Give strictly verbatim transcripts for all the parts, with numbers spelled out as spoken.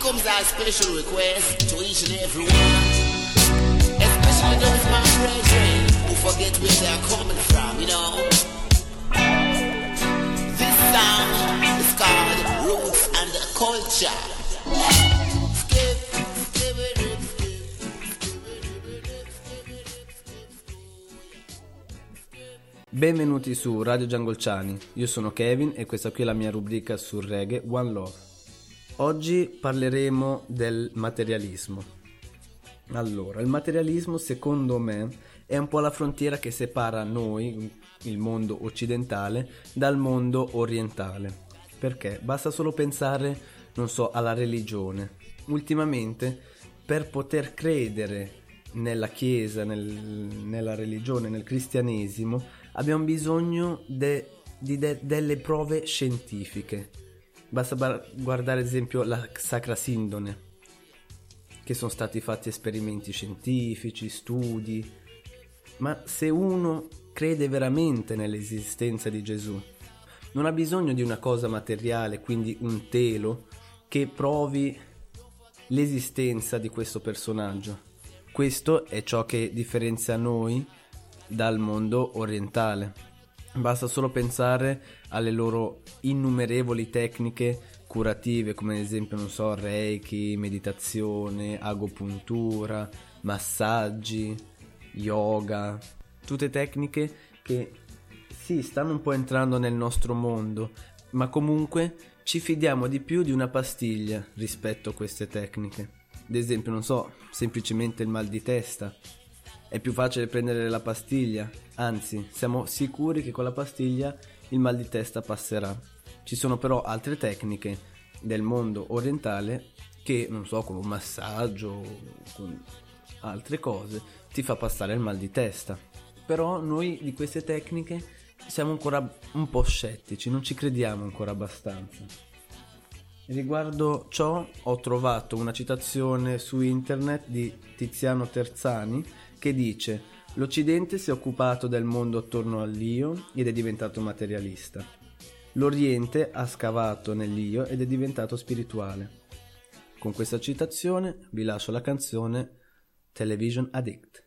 comes our special request to each and every one, especially those my brethren who forget where they are coming from, you know. This song is called Roots and Culture. Skip, skip it, skip, skip it. Benvenuti su Radio Giangolciani, io sono Kevin e questa qui è la mia rubrica sul reggae One Love. Oggi parleremo del materialismo. Allora, il materialismo secondo me è un po' la frontiera che separa noi, il mondo occidentale, dal mondo orientale. Perché? Basta solo pensare, non so, alla religione. Ultimamente, per poter credere nella Chiesa, nel, nella religione, nel cristianesimo, abbiamo bisogno de, di de, delle prove scientifiche. Basta bar- guardare ad esempio la Sacra Sindone, che sono stati fatti esperimenti scientifici, studi, ma se uno crede veramente nell'esistenza di Gesù, non ha bisogno di una cosa materiale, quindi un telo, che provi l'esistenza di questo personaggio. Questo è ciò che differenzia noi dal mondo orientale. Basta solo pensare alle loro innumerevoli tecniche curative, come ad esempio, non so, Reiki, meditazione, agopuntura, massaggi, yoga, tutte tecniche che sì, stanno un po' entrando nel nostro mondo, ma comunque ci fidiamo di più di una pastiglia rispetto a queste tecniche. Ad esempio, non so, semplicemente il mal di testa. È più facile prendere la pastiglia, anzi, siamo sicuri che con la pastiglia il mal di testa passerà. Ci sono però altre tecniche del mondo orientale che, non so, con un massaggio, con altre cose, ti fa passare il mal di testa. Però noi di queste tecniche siamo ancora un po' scettici, non ci crediamo ancora abbastanza. Riguardo ciò ho trovato una citazione su internet di Tiziano Terzani che dice: l'Occidente si è occupato del mondo attorno all'io ed è diventato materialista. L'Oriente ha scavato nell'io ed è diventato spirituale. Con questa citazione vi lascio la canzone Television Addict.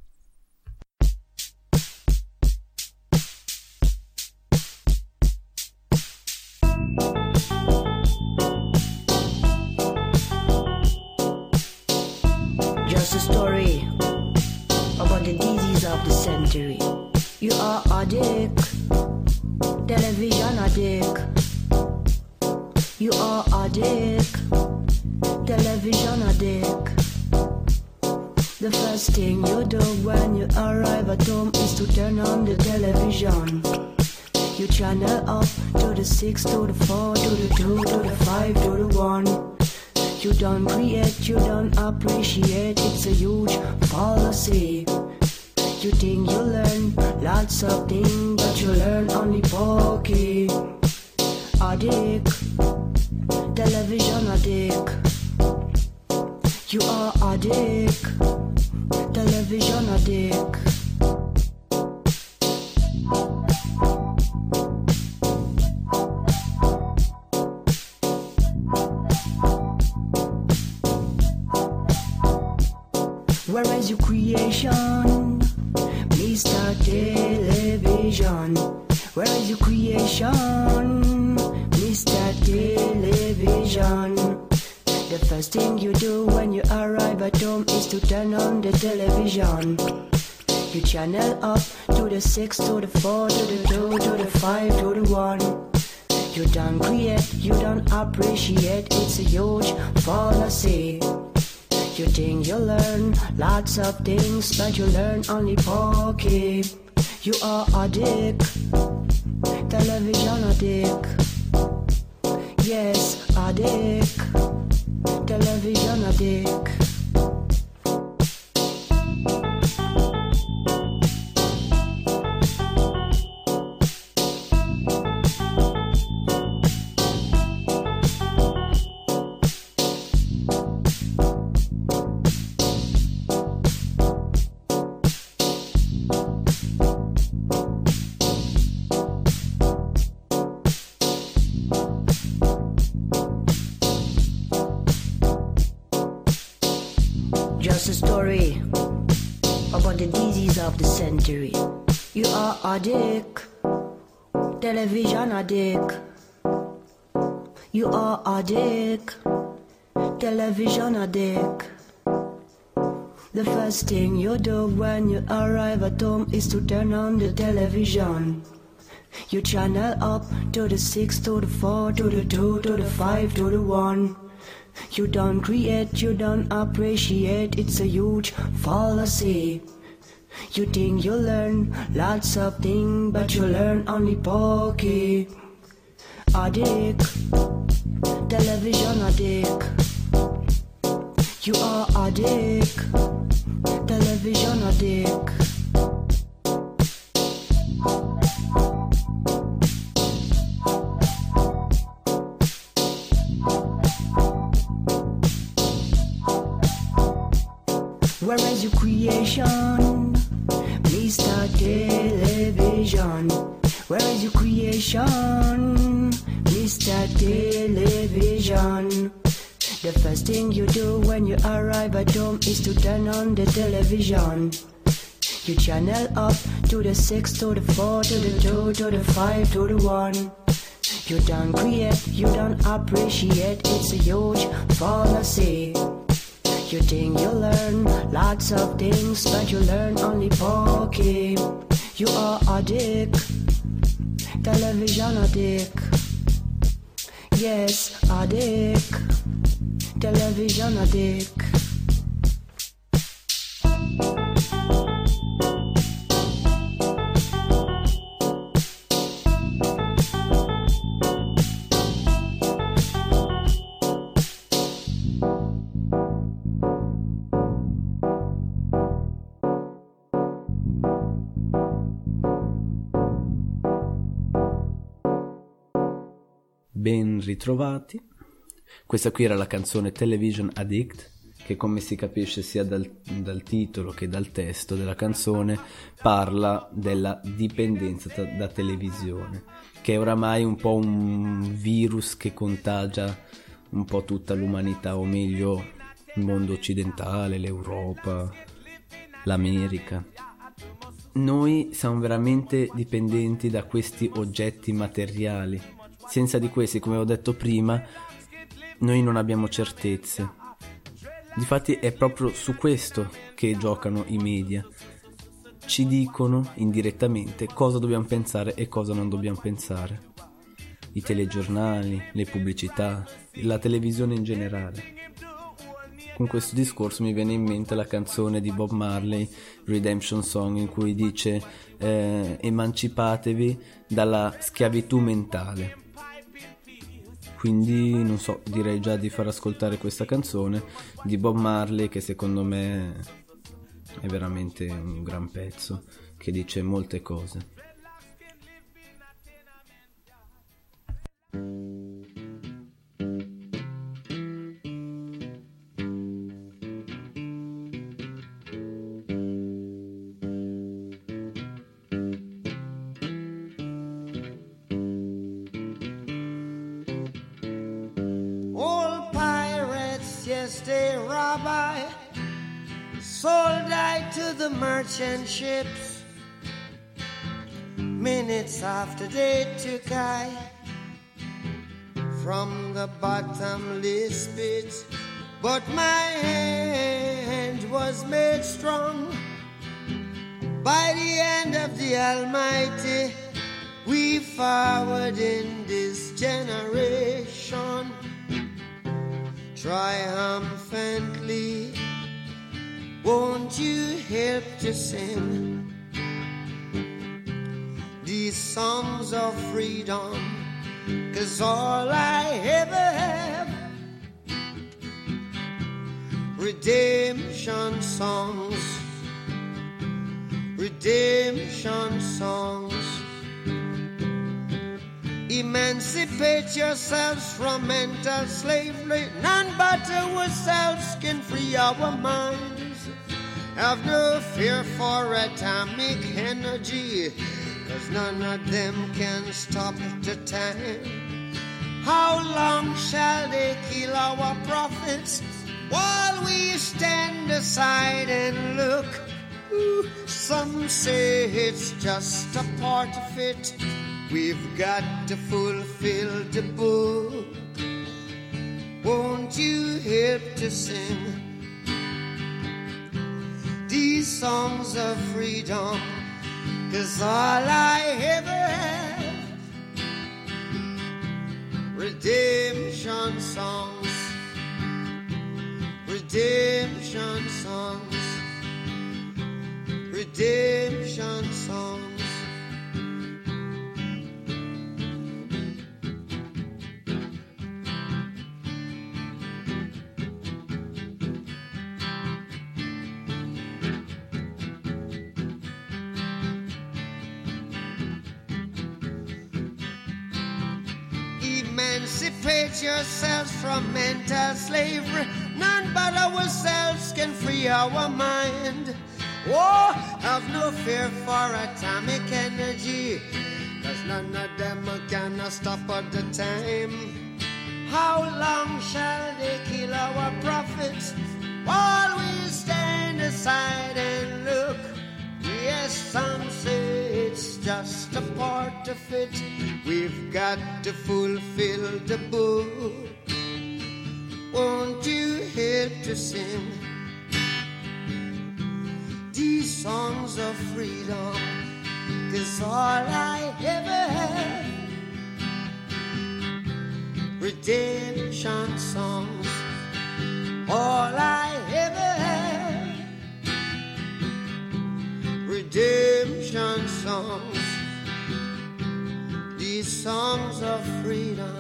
Just a story about the disease of the century. You are addict, television addict. You are addict, television addict. The first thing you do when you arrive at home is to turn on the television. You channel up to the six, to the four, to the two, to the five, to the one. You don't create, you don't appreciate, it's a huge fallacy. You think you learn lots of things, but you learn only pokey. Addict, television addict. You are addict, television addict. Where is your creation, Mister Television? Where is your creation, Mister Television? The first thing you do when you arrive at home is to turn on the television. You channel up to the six, to the four, to the two, to the five, to the one. You don't create, you don't appreciate, it's a huge fallacy. You think you learn lots of things, but you learn only pokey. You are addict, television addict. Yes, addict, television addict. just a story about the disease of the century. You are addict, television addict. You are addict, television addict. The first thing you do when you arrive at home is to turn on the television. You channel up to the six, to the four, to the two, to the five, to the one. You don't create, you don't appreciate, it's a huge fallacy. You think you learn lots of things, but you learn only pokey. Addict, television addict. You are addict, television addict. Where is your creation, Mister Television? Where is your creation, Mister Television? The first thing you do when you arrive at home is to turn on the television. You channel up to the six, to the four, to the two, to the five, to the one. You don't create, you don't appreciate, it's a huge fallacy. You think you learn lots of things, but you learn only pokey. You are addict, television addict. Yes, addict, television addict. Ben ritrovati. Questa qui era la canzone Television Addict, che come si capisce sia dal, dal titolo che dal testo della canzone parla della dipendenza da, da televisione, che è oramai un po' un virus che contagia un po' tutta l'umanità, o meglio il mondo occidentale, l'Europa, l'America. Noi siamo veramente dipendenti da questi oggetti materiali. Senza di questi, come ho detto prima, noi non abbiamo certezze. Difatti è proprio su questo che giocano i media. Ci dicono indirettamente cosa dobbiamo pensare e cosa non dobbiamo pensare. I telegiornali, le pubblicità, la televisione in generale. Con questo discorso mi viene in mente la canzone di Bob Marley, Redemption Song, in cui dice eh, emancipatevi dalla schiavitù mentale. Quindi non so, direi già di far ascoltare questa canzone di Bob Marley, che secondo me è veramente un gran pezzo, che dice molte cose. Yesterday, Rabbi sold I to the merchant ships. Minutes after they took I from the bottomless pit, but my hand was made strong by the hand of the Almighty. We forward in this generation triumphantly. Won't you help to sing these songs of freedom? 'Cause all I ever have, redemption songs, redemption songs. Emancipate yourselves from mental slavery. None but ourselves can free our minds. Have no fear for atomic energy, 'cause none of them can stop the time. How long shall they kill our prophets while we stand aside and look. Ooh, some say it's just a part of it. We've got to fulfill the book. Won't you help to sing these songs of freedom? 'Cause all I ever have, redemption songs, redemption songs, redemption songs. Emancipate yourselves from mental slavery. None but ourselves can free our mind. Oh, have no fear for atomic energy, 'cause none of them can stop at the time. How long shall they kill our prophets while we stand aside and look? Yes, some say it's just a part of it. We've got to fulfill the book. Won't you help to sing these songs of freedom? 'Cause all I ever had, redemption songs. All I ever had, redemption songs. These songs of freedom,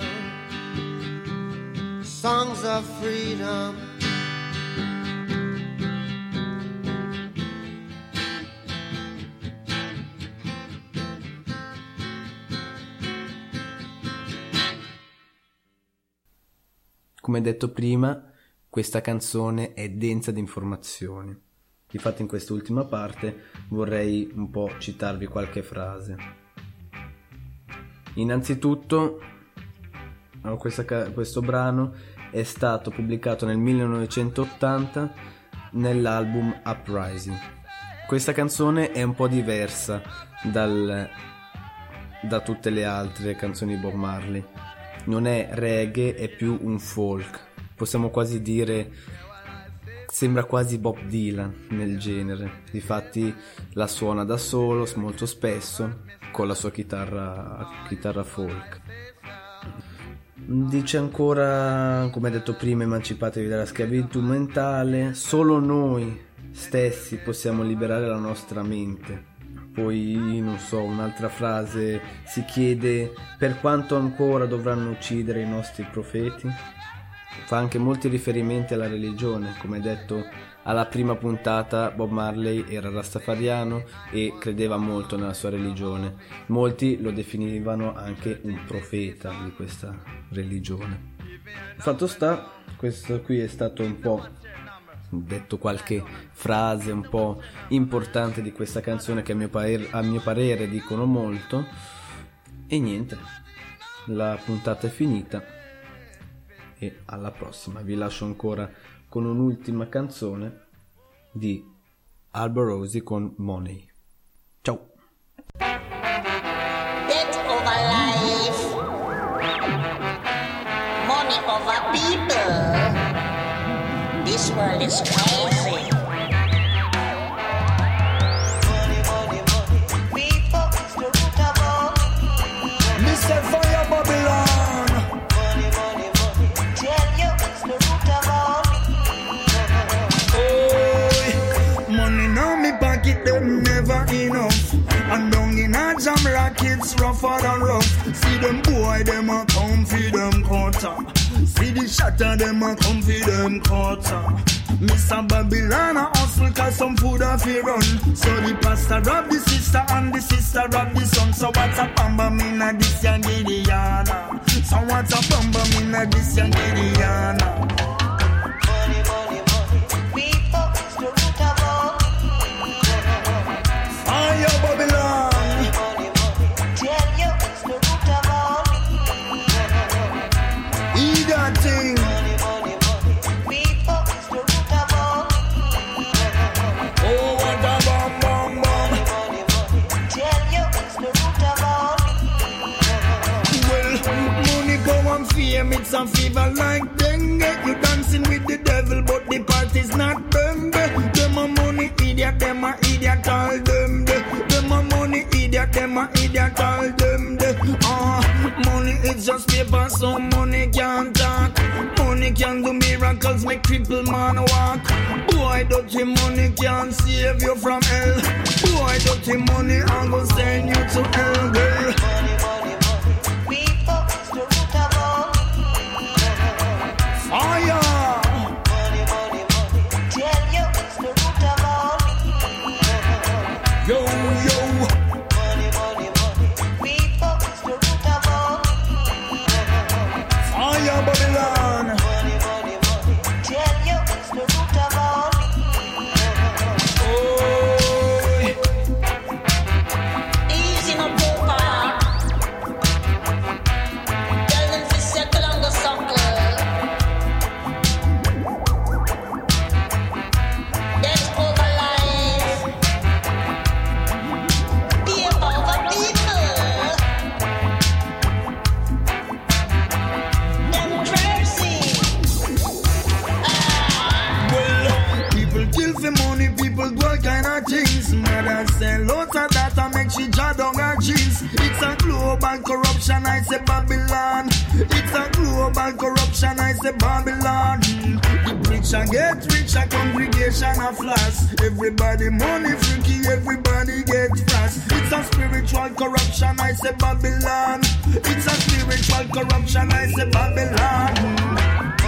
songs of freedom. Come detto prima, questa canzone è densa di informazioni. Infatti in quest'ultima parte vorrei un po' citarvi qualche frase. Innanzitutto, questa, questo brano è stato pubblicato nel millenovecentottanta nell'album Uprising. Questa canzone è un po' diversa dal, da tutte le altre canzoni di Bob Marley. Non è reggae, è più un folk. Possiamo quasi dire, sembra quasi Bob Dylan nel genere. Difatti la suona da solo molto spesso con la sua chitarra, chitarra folk. Dice ancora, come detto prima, emancipatevi dalla schiavitù mentale, solo noi stessi possiamo liberare la nostra mente. Poi, non so, un'altra frase si chiede per quanto ancora dovranno uccidere i nostri profeti. Fa anche molti riferimenti alla religione. Come detto alla prima puntata, Bob Marley era rastafariano e credeva molto nella sua religione. Molti lo definivano anche un profeta di questa religione. Fatto sta, questo qui è stato un po', detto qualche frase un po' importante di questa canzone che a mio parere, a mio parere dicono molto. E niente, la puntata è finita e alla prossima. Vi lascio ancora con un'ultima canzone di Albo Rosie con Money. Ciao. Death over life, money over people. This world is crazy. Money, money, money. People is the root of all evil. Mister Fire Babylon. Money, money, money. Tell you it's the root of all evil. Oh, money now me pocket them never enough. And down in a jam rackets rougher than rough. See them boy them a come feed them quarter. See the shatter them a come feed them quarter. Mister Babylon a hustle cause some food a fi run. So the pastor rob the sister and the sister rob the son. So what's a bamba mina this young Gideana? So what's a bamba mina this young Gideana? Money, money, money. People is the root of all evil. Fire Babylon. Money, money, money. Tell you it's the root of all evil. He got thing. Money, money, money. People is the root of all miracles make cripple man walk. Boy, dirty money can't save you from hell. Boy, dirty money I'm gonna send you to hell, girl. Money, money, money. People is the root of all evil. Fire. Money, money, money. Tell you it's the root of all evil. Yo, yo. Money, money, money. People is the root of all evil. Fire, Babylon. Money, money, money. Tell you it's the root of all evil. Oh. Easy no poker. Tell them to settle on the sucker. That's over life. Be about the people. Democracy. Well, people kill for money, people do all kind of things. Mother sell lots of data, make she draw down her jeans. It's a global corruption, I say Babylon. It's a global corruption, I say Babylon. The richer get richer, congregation of floss. Everybody money freaky, everybody get fast. It's a spiritual corruption, I say Babylon. It's a spiritual corruption, I say Babylon.